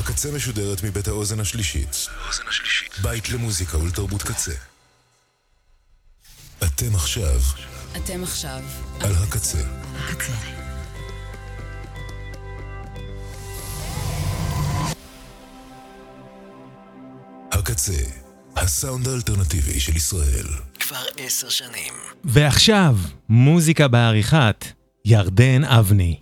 הקצה משודרת מבית האוזן השלישית. בית למוזיקה ולתרבות קצה. אתם עכשיו על הקצה. הקצה, הסאונד האלטרנטיבי של ישראל. כבר 10 שנים. ועכשיו, מוזיקה בעריכת ירדן אבני.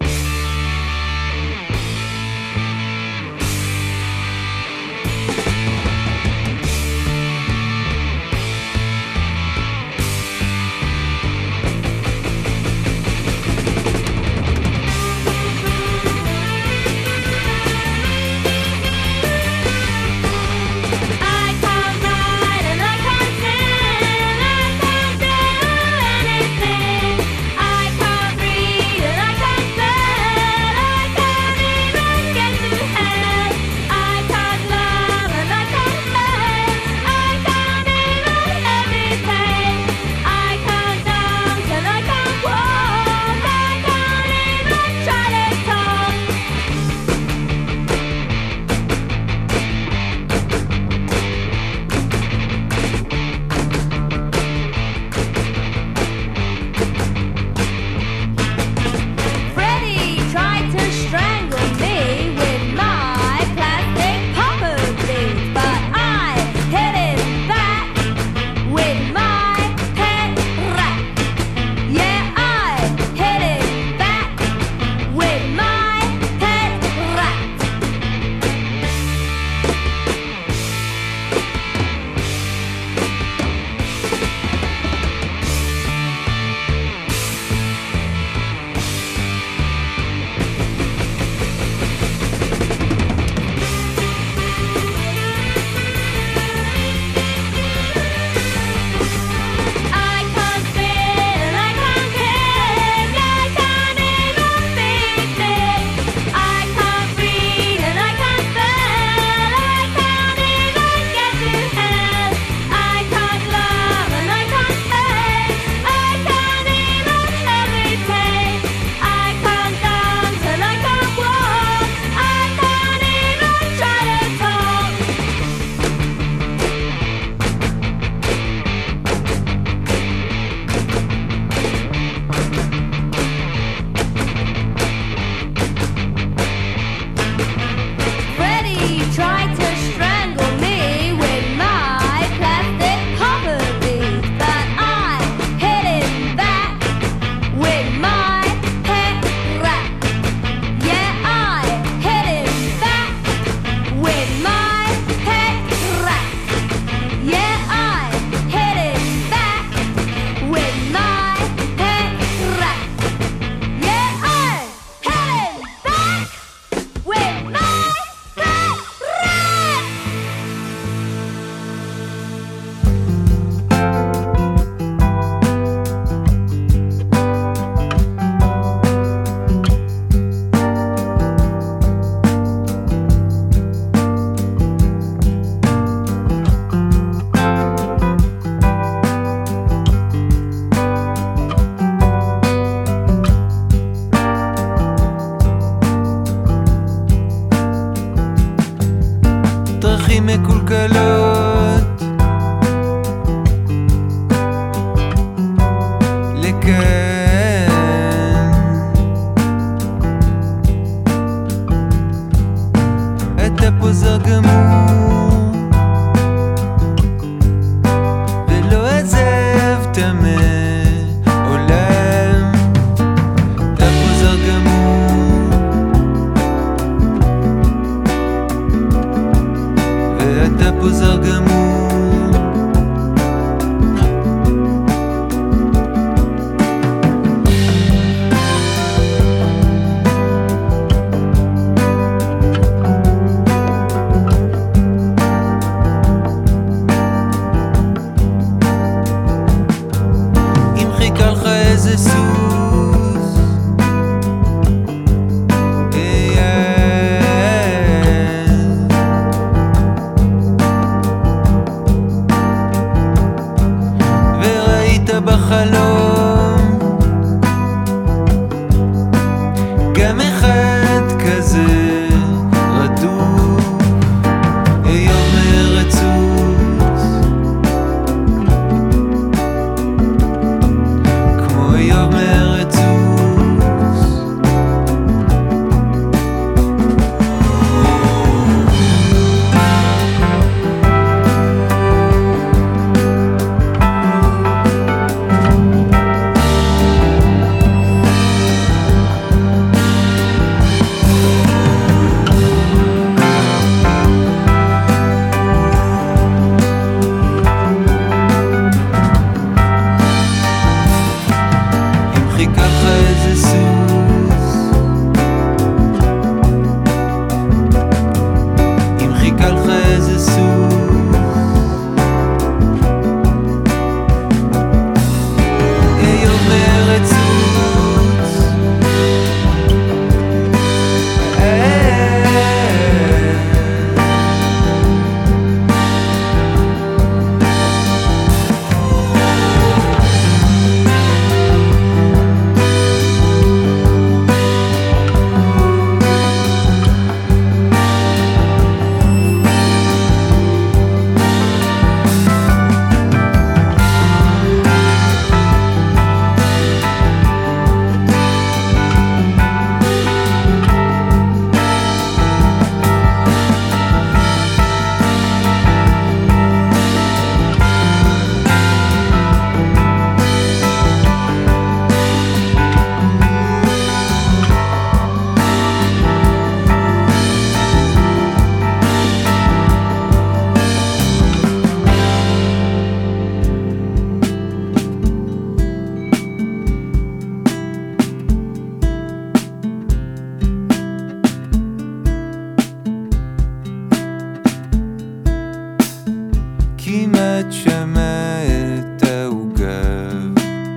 כמעט שמע את העוגב,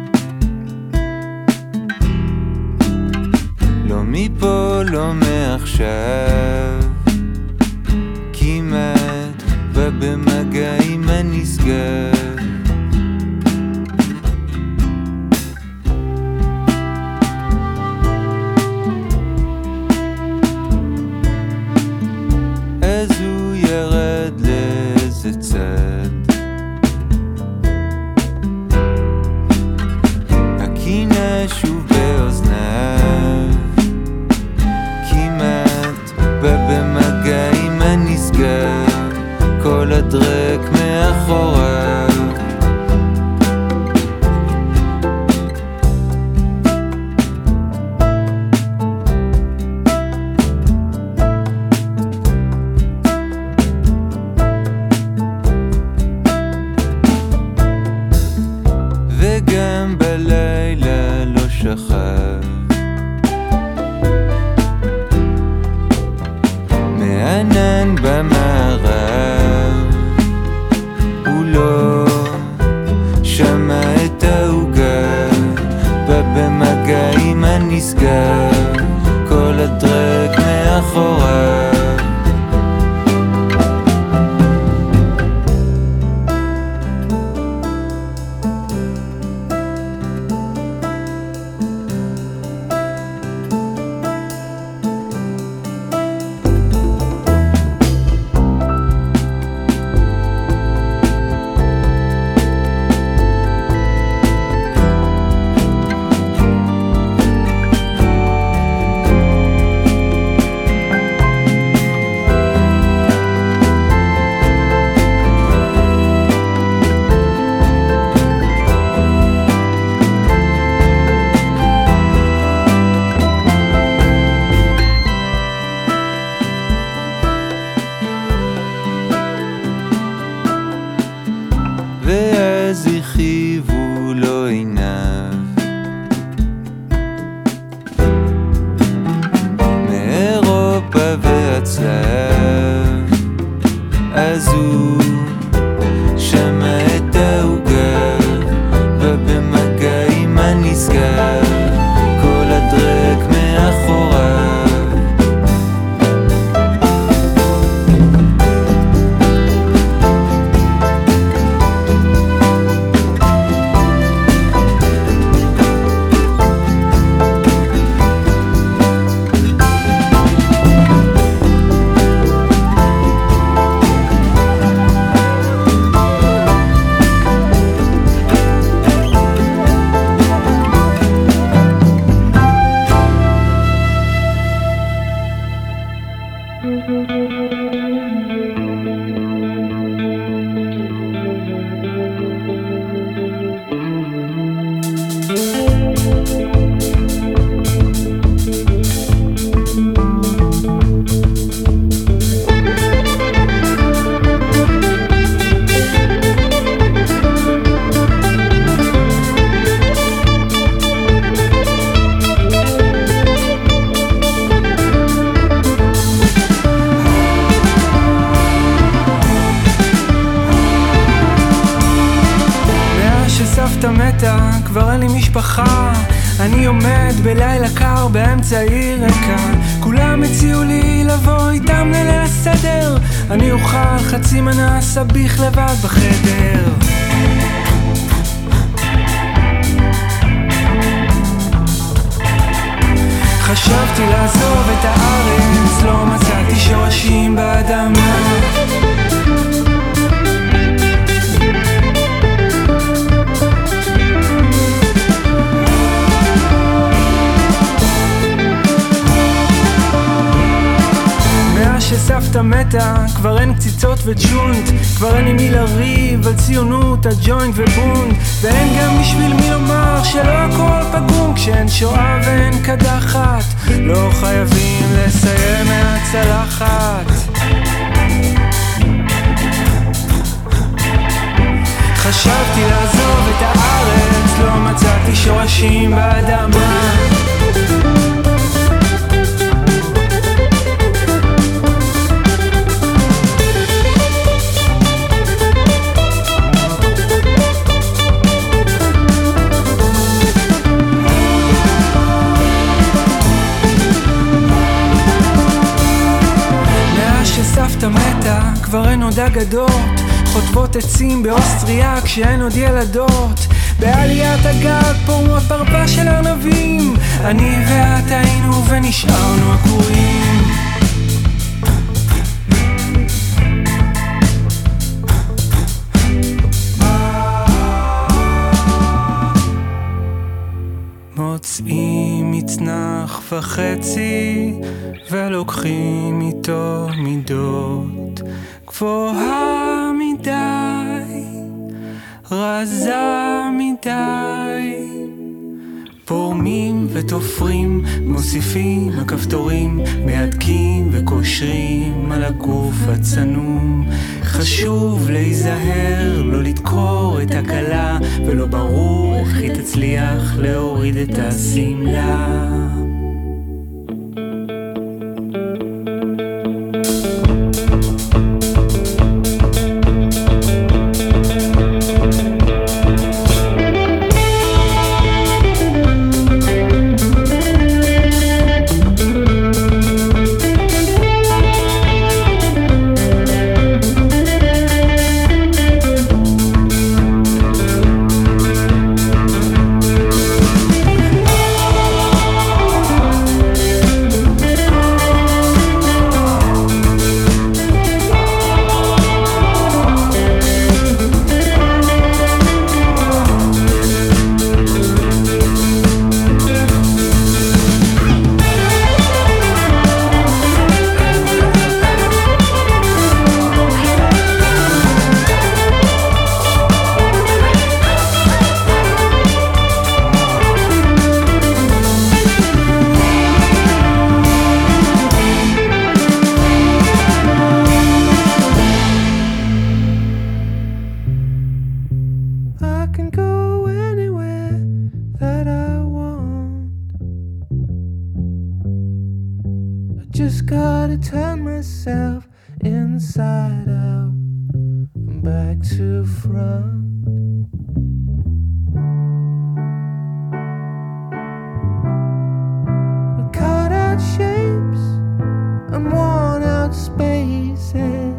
לא מפה לא מעכשיו, כמעט בא במגע עם הנשגב. אז הוא ירד לאיזה צד, הקינה שוב באוזניו, כמעט בא במגע עם הנשגב, כל הדרק מאחוריו. וגם בלילה לא שכב, מענן במערב, הוא לא שמע את העוגה, בא במגע עם הנשגב, כל הדרק מאחוריו. ואז הכיבו לו עיניו, מאירופה והצלב, אז הוא שמע את העוגה, בא במגע עם הנשגב, כל הדרק מאחוריו. סבתא מתה, כבר אין לי משפחה, אני עומד בלילה קר באמצע עיר ריקה, כולם הציעו לי לבוא איתם לליל הסדר, אני אוכל חצי מנה סביח לבד בחדר. חשבתי לעזוב את הארץ, לא מצאתי שורשים באדמה, שסבתא מתה, כבר אין קציצות וג'ונט, כבר אין עם מי לריב על ציונות, הג'וינט ובונט, ואין גם בשביל מי לומר שלא הכל פגום, כשאין שואה ואין קדחת, לא חייבים לסיים מהצלחת. חשבתי לעזוב את הארץ, לא מצאתי שורשים באדמה, כבר אין עוד אגדות, חוטבות עצים באוסטריה כשאין עוד ילדות. בעליית הגג פורמות פרפה של ארנבים, אני ואת היינו ונשארנו עקורים. מוצאים מצנח וחצי ולוקחים איתו מידות, גבוהה מדי, רזה מדי. פורמים ותופרים, מוסיפים הכפתורים, מהדקים וקושרים על הגוף הצנום. חשוב להיזהר, לא לדקור את הקלה, ולא ברור איך היא תצליח להוריד את הסמלה. Just gotta turn myself inside out and back to front. We cut out shapes and worn out spaces,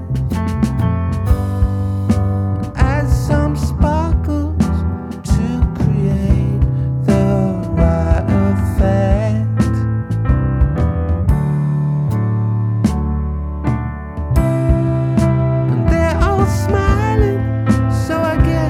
add some sparkles to create the right effect. Smiling, so I guess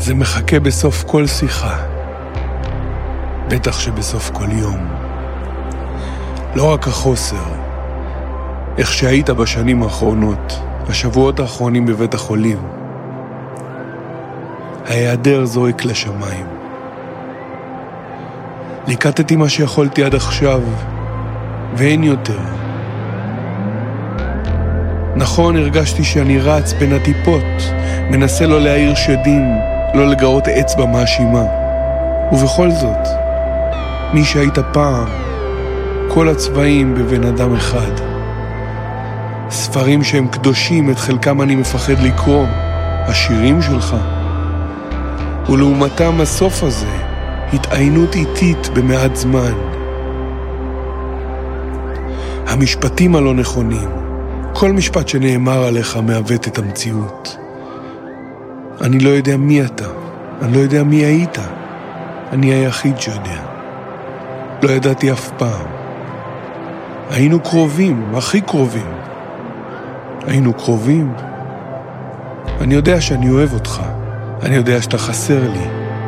זה מחכה בסוף כל שיחה, בטח שבסוף כל יום. לא רק החוסר, איך שהיית בשנים האחרונות, השבועות האחרונים בבית החולים. ההיעדר זורק לשמיים. ליקטתי מה שיכולתי עד עכשיו, ואין יותר. נכון, הרגשתי שאני רץ בין הטיפות, מנסה לא להעיר שדים, לא לגרות אצבע מאשימה. ובכל זאת, מי שהיית פעם, כל הצבעים בבן אדם אחד. ספרים שהם קדושים, את חלקם אני מפחד לקרוא, השירים שלך. ולעומתם הסוף הזה, התעיינות איטית במעט זמן. המשפטים הלא נכונים, כל משפט שנאמר עליך מעוות את המציאות. אני לא יודע מי אתה, אני לא יודע מי היית. אני היחיד שיודע. לא ידעתי אף פעם. היינו קרובים, הכי קרובים. היינו קרובים. אני יודע שאני אוהב אותך. אני יודע שאתה חסר לי.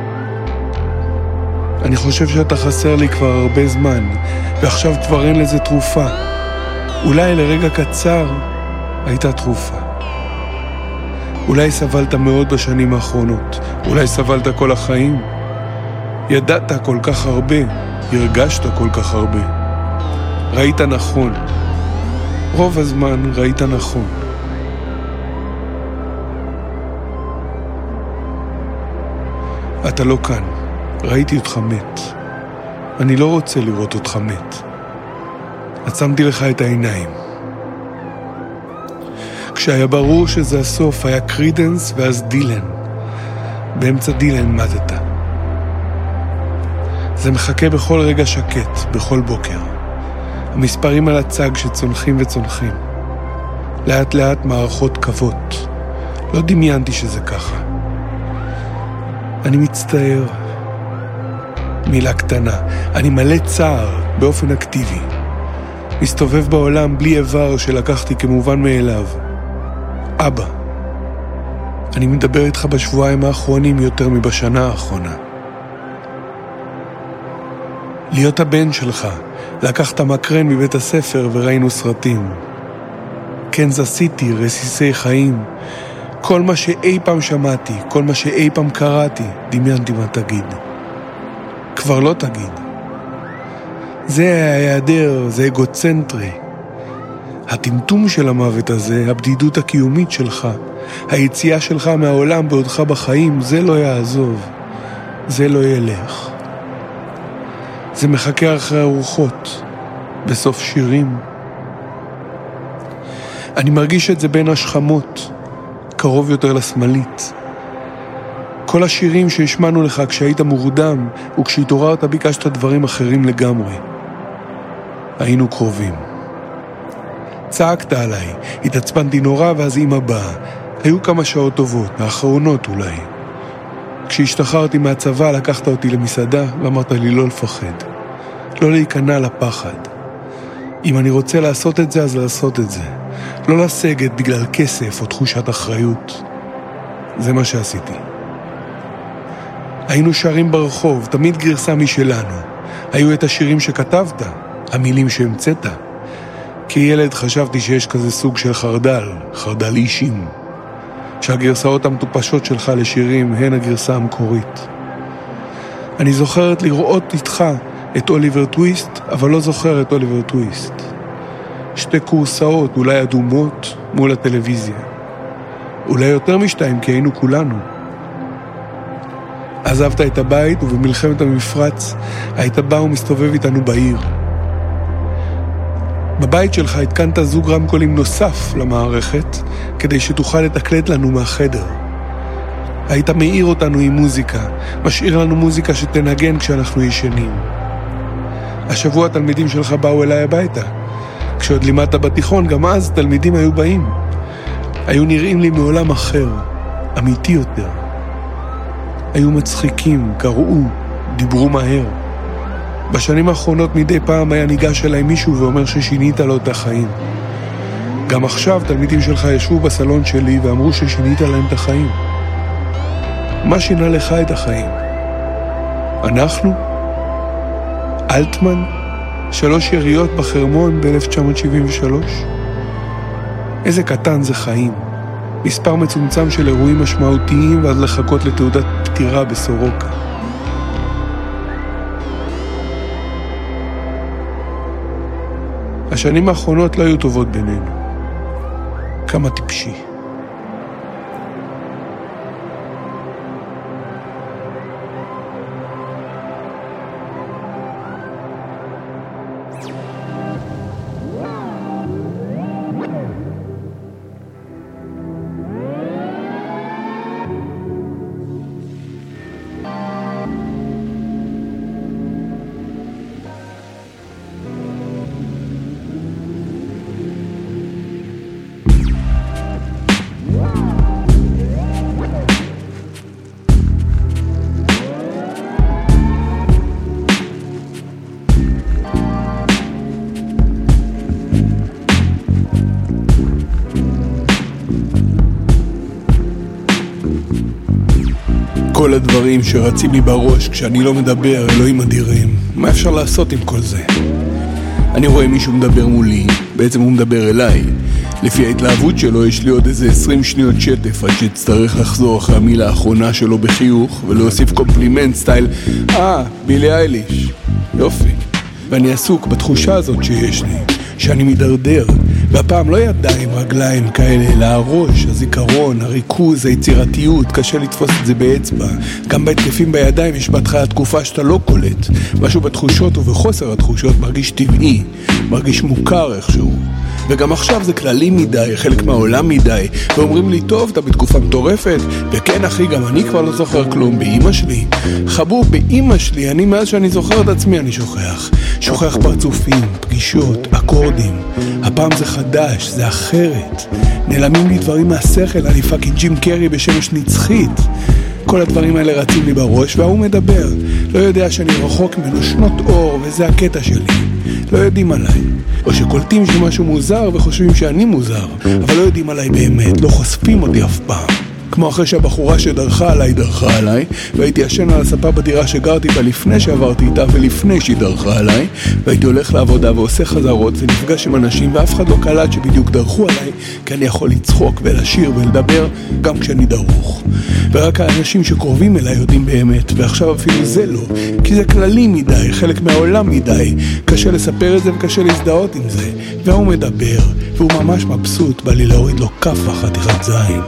אני חושב שאתה חסר לי כבר הרבה זמן, ועכשיו כבר אין לזה תרופה. אולי לרגע קצר הייתה תרופה. אולי סבלת מאוד בשנים האחרונות, אולי סבלת כל החיים. ידעת כל כך הרבה, הרגשת כל כך הרבה. ראית נכון. רוב הזמן ראית נכון. אתה לא כאן. ראיתי אותך מת. אני לא רוצה לראות אותך מת. עצמתי לך את העיניים. כשהיה ברור שזה הסוף, היה קרידנס ואז דילן. באמצע דילן מתת. זה מחכה בכל רגע שקט, בכל בוקר. המספרים על הצג שצונחים וצונחים. לאט לאט מערכות קוות. לא דמיינתי שזה ככה. אני מצטער. מילה קטנה. אני מלא צער באופן אקטיבי. מסתובב בעולם בלי איבר שלקחתי כמובן מאליו. אבא. אני מדבר איתך בשבועיים האחרונים יותר מבשנה האחרונה. להיות הבן שלך, לקחת מקרן מבית הספר וראינו סרטים. קנזס סיטי, רסיסי חיים. כל מה שאי פעם שמעתי, כל מה שאי פעם קראתי, דמיינתי מה תגיד. כבר לא תגיד. זה ההיעדר, זה אגוצנטרי. הטמטום של המוות הזה, הבדידות הקיומית שלך, היציאה שלך מהעולם בעודך בחיים, זה לא יעזוב. זה לא ילך. זה מחכה אחרי הרוחות, בסוף שירים. אני מרגיש את זה בין השכמות, קרוב יותר לשמאלית. כל השירים שהשמענו לך כשהיית מורדם, וכשהתעוררת ביקשת דברים אחרים לגמרי. היינו קרובים. צעקת עליי, התעצבנתי נורא ואז אמא באה. היו כמה שעות טובות, האחרונות אולי. כשהשתחררתי מהצבא לקחת אותי למסעדה ואמרת לי לא לפחד. לא להיכנע לפחד. אם אני רוצה לעשות את זה, אז לעשות את זה. לא לסגת בגלל כסף או תחושת אחריות. זה מה שעשיתי. היינו שרים ברחוב, תמיד גרסה משלנו. היו את השירים שכתבת, המילים שהמצאת. כילד חשבתי שיש כזה סוג של חרדל, חרדל אישים. שהגרסאות המטופשות שלך לשירים הן הגרסה המקורית. אני זוכרת לראות איתך את אוליבר טוויסט, אבל לא זוכר את אוליבר טוויסט. שתי קורסאות, אולי אדומות, מול הטלוויזיה. אולי יותר משתיים, כי היינו כולנו. עזבת את הבית, ובמלחמת המפרץ היית בא ומסתובב איתנו בעיר. בבית שלך התקנת זוג רמקולים נוסף למערכת, כדי שתוכל לתקלט לנו מהחדר. היית מאיר אותנו עם מוזיקה, משאיר לנו מוזיקה שתנגן כשאנחנו ישנים. השבוע התלמידים שלך באו אליי הביתה. כשעוד לימדת בתיכון, גם אז תלמידים היו באים. היו נראים לי מעולם אחר, אמיתי יותר. היו מצחיקים, קראו, דיברו מהר. בשנים האחרונות מדי פעם היה ניגש אליי מישהו ואומר ששינית לו את החיים. גם עכשיו תלמידים שלך ישבו בסלון שלי ואמרו ששינית להם את החיים. מה שינה לך את החיים? אנחנו? אלטמן? 3 יריות בחרמון ב-1973? איזה קטן זה חיים. מספר מצומצם של אירועים משמעותיים ואז לחכות לתעודת פטירה בסורוקה. השנים האחרונות לא היו טובות בינינו. כמה טיפשי. כל הדברים שרצים לי בראש כשאני לא מדבר, אלוהים אדירים. מה אפשר לעשות עם כל זה? אני רואה מישהו מדבר מולי, בעצם הוא מדבר אליי. לפי ההתלהבות שלו יש לי עוד איזה 20 שניות שטף עד שתצטרך לחזור אחרי המילה האחרונה שלו בחיוך ולהוסיף קומפלימנט סטייל בילי אייליש. יופי. ואני עסוק בתחושה הזאת שיש לי, שאני מדרדר, והפעם לא ידיים, רגליים כאלה, אלא הראש, הזיכרון, הריכוז, היצירתיות, קשה לתפוס את זה באצבע. גם בהתקפים בידיים יש בהתחלה תקופה שאתה לא קולט. משהו בתחושות ובחוסר התחושות מרגיש טבעי, מרגיש מוכר איכשהו. וגם עכשיו זה כללי מדי, חלק מהעולם מדי, ואומרים לי, טוב, אתה בתקופה מטורפת, וכן אחי, גם אני כבר לא זוכר כלום, באמא שלי. חבור, באמא שלי, אני מאז שאני זוכר את עצמי אני שוכח פרצופים, פגישות, אקורדים. הפעם זה חדש, זה אחרת. נעלמים לי דברים מהשכל, אני פאקינג ג'ים קרי בשמש נצחית. כל הדברים האלה רצים לי בראש, והוא מדבר. לא יודע שאני רחוק ממנו שנות אור, וזה הקטע שלי. לא יודעים עליי. או שקולטים שמשהו מוזר וחושבים שאני מוזר, אבל לא יודעים עליי באמת, לא חושפים אותי אף פעם. כמו אחרי שהבחורה שדרכה עליי, והייתי ישן על הספה בדירה שגרתי בה לפני שעברתי איתה ולפני שהיא דרכה עליי, והייתי הולך לעבודה ועושה חזרות ונפגש עם אנשים ואף אחד לא קלט שבדיוק דרכו עליי, כי אני יכול לצחוק ולשיר ולדבר גם כשאני דרוך. ורק האנשים שקרובים אליי יודעים באמת, ועכשיו אפילו זה לא, כי זה כללי מדי, חלק מהעולם מדי, קשה לספר את זה וקשה להזדהות עם זה. והוא מדבר, והוא ממש מבסוט, בא לי להוריד לו כף חתיכת זין.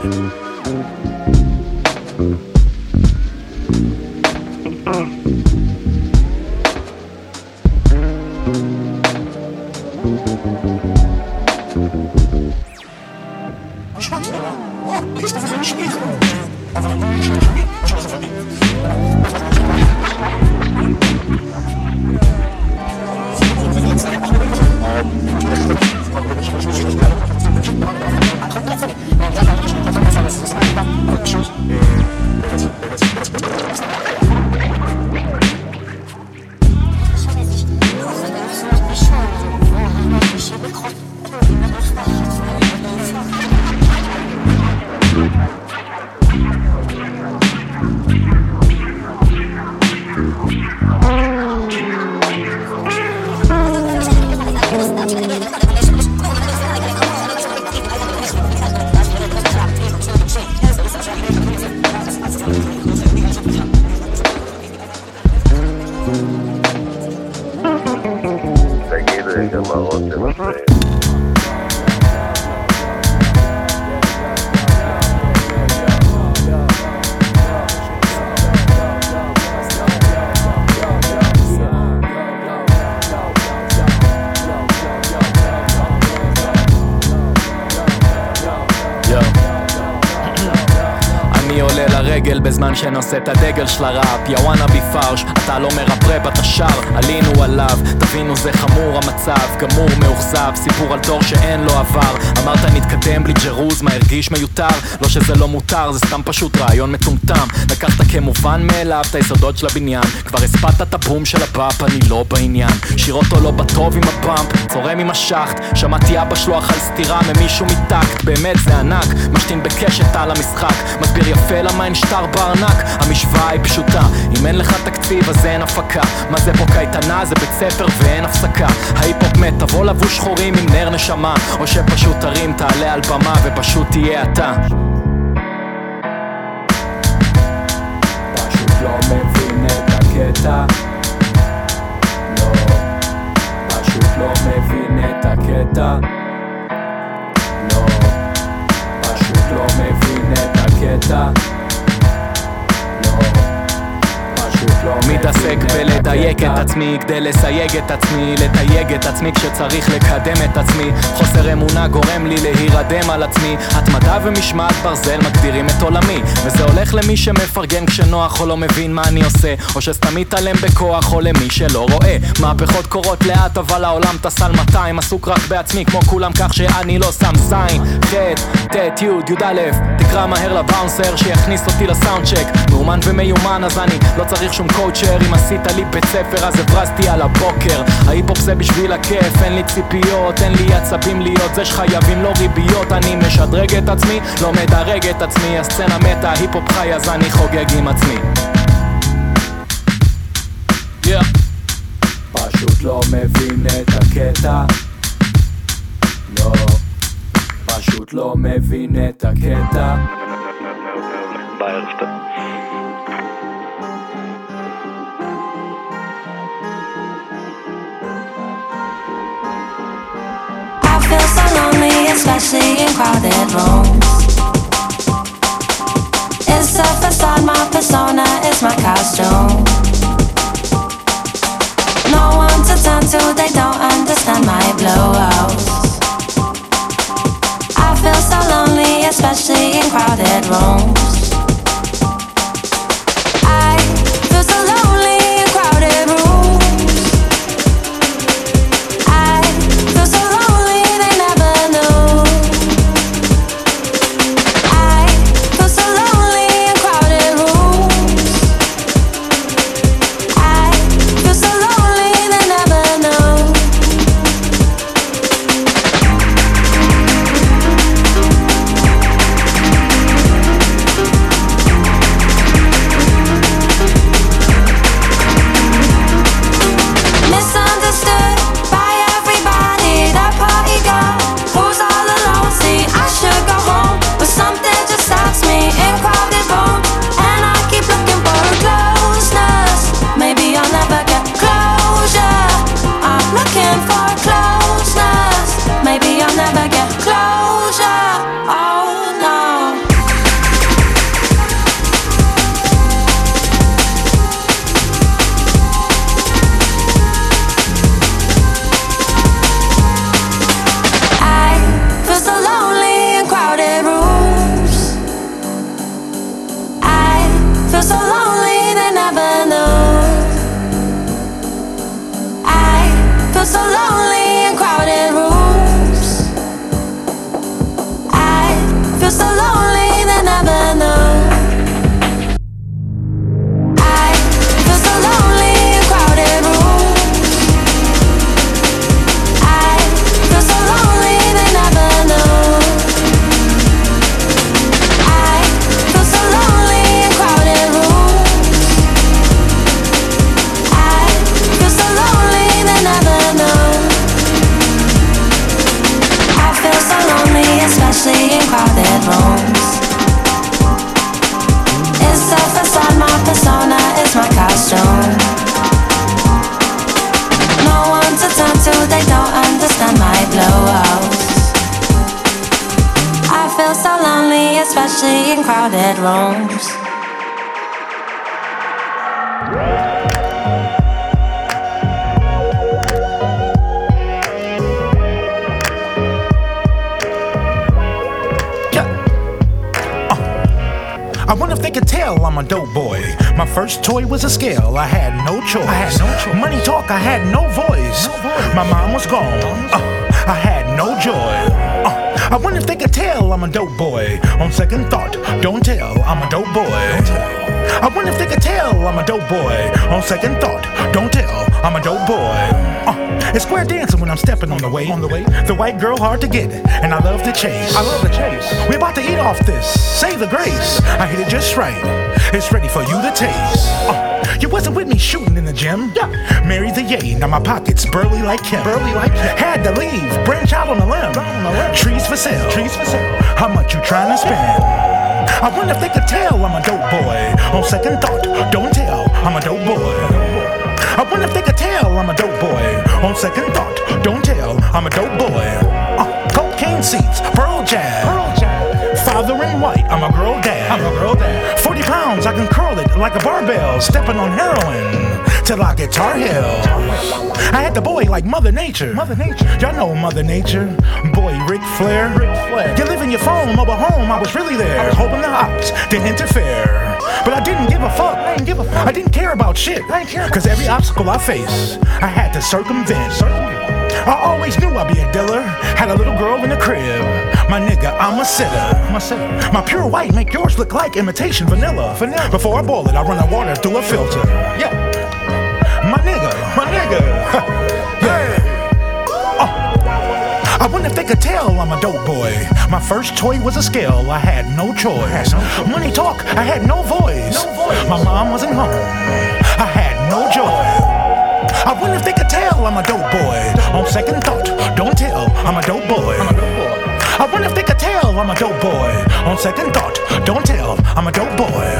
בזמן שנושא את הדגל של הראפ, יא וואנה בי פרש, אתה לא מרפרפ, אתה שר, עלינו עליו, תבינו זה חמור המצב, גמור מאוכזב, סיפור על דור שאין לו עבר, אמרת נתקדם בלי ג'רוז, מה הרגיש מיותר, לא שזה לא מותר, זה סתם פשוט רעיון מטומטם, לקחת כמובן מאליו את היסודות של הבניין, כבר הספת את הבום של הבאפ, אני לא בעניין, שיר אותו לא בטוב עם הבאמפ, צורם עם השחט, שמעתי אבא שלו אכל סתירה ממישהו מטקט, באמת זה ענק, משתין בקשת על המשחק, מסביר יפה אלא מה אין שטר בארנק. המשוואה היא פשוטה, אם אין לך תקציב אז אין הפקה. מה זה פה קייטנה? זה בית ספר ואין הפסקה. ההיפ-הופ מת, תבוא לבוש שחורים עם נר נשמה, או שפשוט תרים, תעלה על במה ופשוט תהיה אתה. פשוט לא מבין את הקטע, לא, פשוט לא מבין את הקטע, לא, פשוט לא מבין את הקטע, מתעסק בלדייק את עצמי כדי לסייג את עצמי, לתייג את עצמי כשצריך לקדם את עצמי. חוסר אמונה גורם לי להירדם על עצמי. התמדה ומשמעת ברזל מגדירים את עולמי, וזה הולך למי שמפרגן כשנוח או לא מבין מה אני עושה, או שסתם מתעלם בכוח, או למי שלא רואה. מהפכות קורות לאט אבל העולם טס על 200, עסוק רק בעצמי כמו כולם כך שאני לא שם זין. ח' ט' י' י' א', תקרא מהר לבאונסר שיכניס אותי לסאונד צ'ק. מאומן ומיומן אז אני לא צריך שום קואוצ'ר. אם עשית לי בית ספר אז הברזתי על הבוקר. ההיפ-הופ זה בשביל הכיף, אין לי ציפיות, אין לי עצבים להיות זה שחייבים לא ריביות. אני משדרג את עצמי, לא מדרג את עצמי. הסצנה מתה, ההיפ-הופ חי אז אני חוגג עם עצמי. פשוט לא מבין את הקטע, לא, פשוט לא מבין את הקטע. בערב טוב. I feel so lonely, especially in crowded rooms. It's a facade, my persona is my costume. No one to turn to, they don't understand my blowout. I feel so lonely, especially in crowded rooms. I feel so lonely in crowded rooms. I feel so lonely, they never knew. I feel so lonely in crowded rooms. I feel so lonely, they never knew. Misunderstood by everybody, that party girl who's all alone. See, I should go home, but something just stops me in crowded rooms, and I keep looking for a closeness. Maybe I'll never get closure. I'm looking for closeness. Maybe I'll never get closure. Oh no. I feel so lonely in crowded rooms. I feel so lonely, they never knew. I feel so lonely in crowded rooms. I feel so lonely, they never knew. I feel so lonely in crowded rooms. I feel so lonely, they never knew. I feel so lonely in crowded rooms. I feel so lonely, they never knew. I feel so lonely, especially in crowded rooms. It's a facade, my persona is my costume. No one to turn to, they don't understand my blowouts. I feel so lonely, especially in crowded rooms. I wonder if they could tell I'm a dope boy. My first toy was a scale, I had no choice. Money talk, I had no voice. My mom was gone, I had no joy. I wonder if they could tell I'm a dope boy. On second thought, don't tell, I'm a dope boy. I wonder if they could tell I'm a dope boy. On second thought, don't tell, I'm a dope boy. It's square dancing when I'm stepping on the way. The white girl hard to get, and I love to chase. We about to eat off this. Say the grace. I hit it just right. It's ready for you to taste. You wasn't with me shooting in the gym. Married the yay, now my pockets burly like Kim. Had to leave, branch out on the limb. Trees for sale. How much you trying to spend? I wonder if they could tell I'm a dope boy. On second thought, don't tell, I'm a dope boy. I wonder if they could tell I'm a dope boy. On second thought, don't tell, I'm a dope boy. Cocaine seats, pearl jazz. Father in white, I'm a girl dad. 40 pounds, I can curl it like a barbell. Stepping on heroin till I get Tar Heel. I had the boy like Mother Nature. Y'all know Mother Nature. Boy, Ric Flair. You live in your phone, mobile home, I was really there. Hoping the ops didn't interfere. But I didn't give a fuck. I didn't care about shit. Cause every obstacle I face, I had to circumvent. I always knew I'd be a dealer. Had a little girl in the crib. My nigga, I'm a sitter. My pure white make yours look like imitation vanilla. Before I boil it, I run the water through a filter. Yeah. My nigga. Yeah. I wonder if they could tell I'm a dope boy. My first toy was a scale, I had no choice. Money talk, I had no voice. My mom wasn't home, I had no joy. I wonder if they could tell I'm a dope boy. On second thought, don't tell, I'm a dope boy. I wonder if they could tell I'm a dope boy. On second thought, don't tell, I'm a dope boy.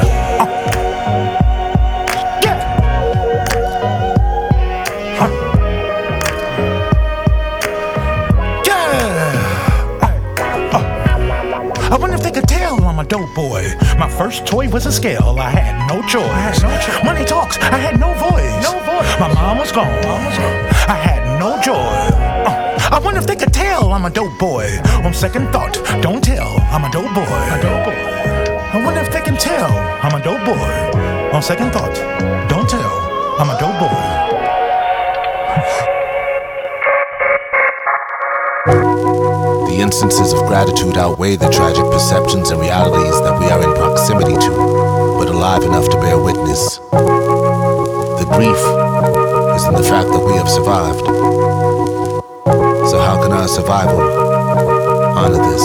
I wonder if they could tell I'm a dope boy. My first toy was a scale, I had no choice. Money talks, I had no voice. My mom was gone, I had no joy. I wonder if they could tell I'm a dope boy. On second thought, don't tell, I'm a dope boy. I wonder if they can tell I'm a dope boy. On second thought, don't tell, I'm a dope boy. The instances of gratitude outweigh the tragic perceptions and realities that we are in proximity to, but alive enough to bear witness. The grief is in the fact that we have survived. So how can our survival honor this?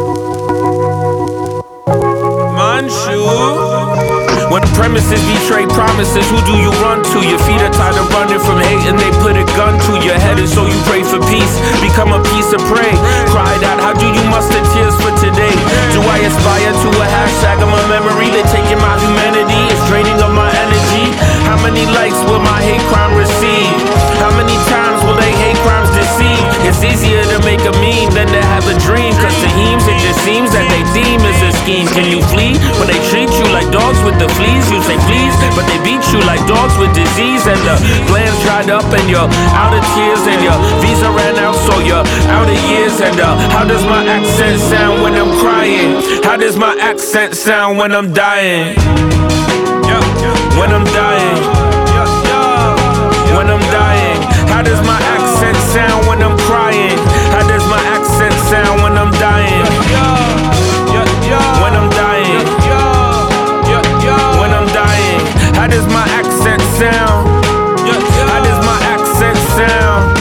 Manchu. When premises betray promises, who do you run to? Your feet are tired of running from hate and they put a gun to your head, and so you pray for peace, become a piece of prey. Cried out, how do you muster tears for today? Do I aspire to a hashtag of my memory? They're taking my humanity, it's draining of my energy. How many likes will my hate crime receive? How many times will they hate crimes deceive? It's easier to make a meme than to have a dream, cause to heems it just seems that they deem as a scheme. Can you flee when they treat you like dogs with the fleas? You say please, but they beat you like dogs with disease, and the glands dried up and you're out of tears, and your visa ran out so you're out of years. And how does my accent sound when I'm crying? How does my accent sound when I'm dying? When I'm dying, when I'm dying. How does my accent sound when I'm crying? How does my accent sound when I'm dying? When I'm dying, when I'm dying. How does my accent sound? How does my accent sound?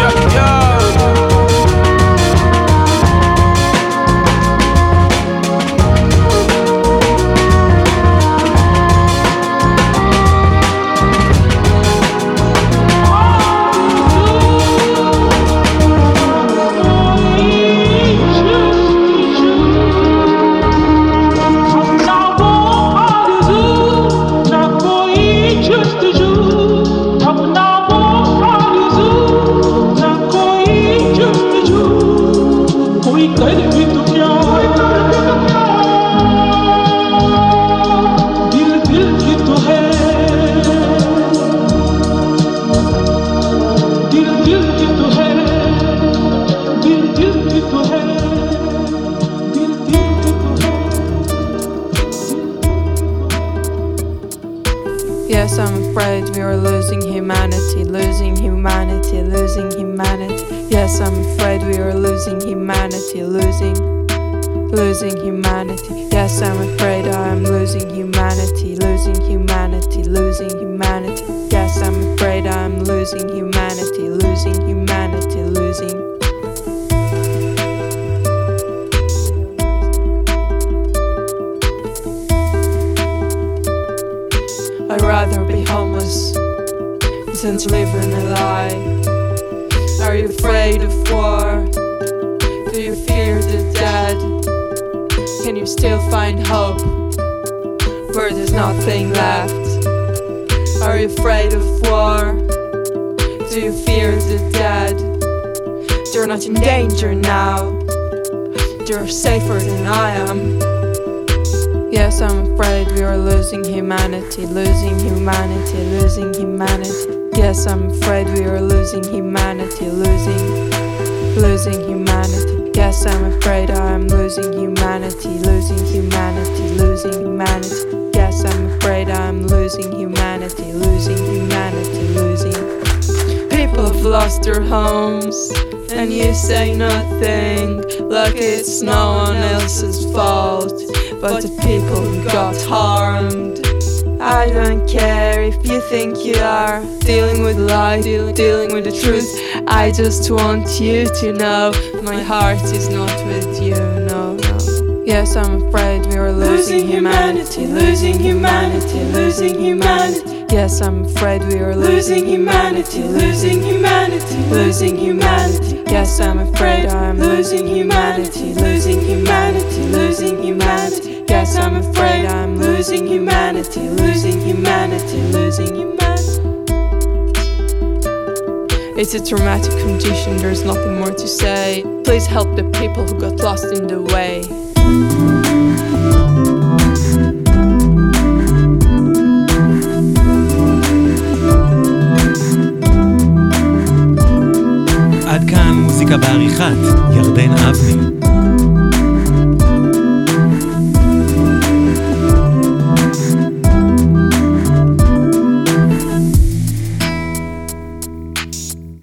Yes, I'm afraid we are losing humanity, losing humanity, losing humanity. Yes, I'm afraid we are losing humanity, losing humanity. Yes, I'm afraid I am losing humanity, losing humanity, losing humanity. Yes, I'm afraid I am losing losing humanity, losing humanity, losing. I'd rather be homeless than to live in a lie. Are you afraid of war? Do you fear the dead? Can you still find hope where there's nothing left? Are you afraid of war? Do you fear the dead? They're not in danger now. They're safer than I am. Yes, I'm afraid we are losing humanity, losing humanity, losing humanity. Yes, I'm afraid we are losing humanity, losing humanity. Yes, I'm afraid I'm losing humanity, losing humanity, losing humanity. Yes, I'm afraid I'm losing humanity, losing humanity, losing. People have lost their homes, and you say nothing, like it's no one else's fault, but the people who got harmed. I don't care if you think you are dealing with lies, dealing with the truth. I just want you to know my heart is not with you, no, no. Yes, I'm afraid we are losing humanity, losing humanity, losing humanity. Yes, I'm afraid we are losing humanity, losing humanity, losing humanity. Yes, I'm afraid I'm losing humanity, losing humanity, losing humanity. Yes, I'm afraid I'm losing humanity, losing humanity, losing humanity. It's a traumatic condition, there's nothing more to say. Please help the people who got lost in the way. עד כאן מוזיקה בעריכת ירדן אבני.